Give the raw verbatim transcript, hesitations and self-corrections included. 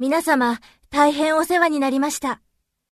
皆様、大変お世話になりました。